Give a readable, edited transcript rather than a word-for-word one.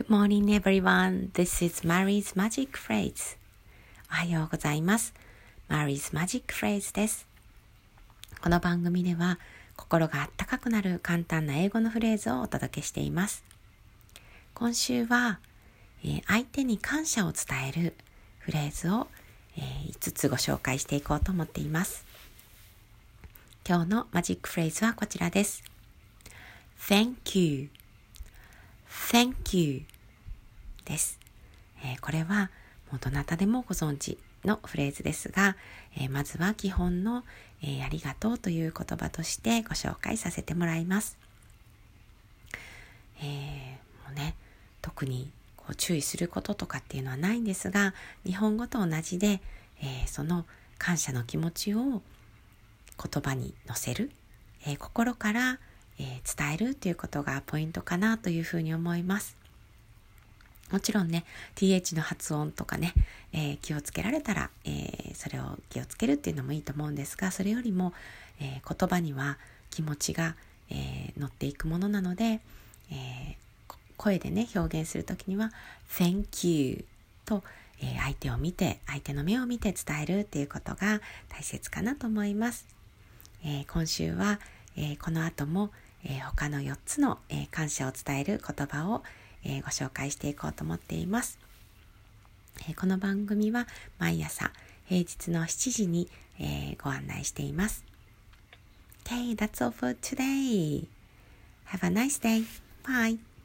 Good morning everyone. This is Mary's Magic Phrase. おはようございます。Mary's Magic Phrase です。この番組では心があったかくなる簡単な英語のフレーズをお届けしています。今週は、相手に感謝を伝えるフレーズを、5つご紹介していこうと思っています。今日のマジックフレーズはこちらです。Thank you.Thank you です。これはもうどなたでもご存知のフレーズですが、まずは基本の、ありがとうという言葉としてご紹介させてもらいます。もうね、特にこう注意することとかっていうのはないんですが、日本語と同じで、その感謝の気持ちを言葉に乗せる、心から伝えるということがポイントかなというふうに思います。もちろんね th の発音とかね、気をつけられたら、それを気をつけるっていうのもいいと思うんですが、それよりも、言葉には気持ちが、乗っていくものなので、声でね表現するときには Thank you と、相手を見て相手の目を見て伝えるっていうことが大切かなと思います。今週は、この後も他の4つの、感謝を伝える言葉を、ご紹介していこうと思っています。この番組は毎朝平日の7時に、ご案内しています。Okay, that's all for today. Have a nice day. Bye.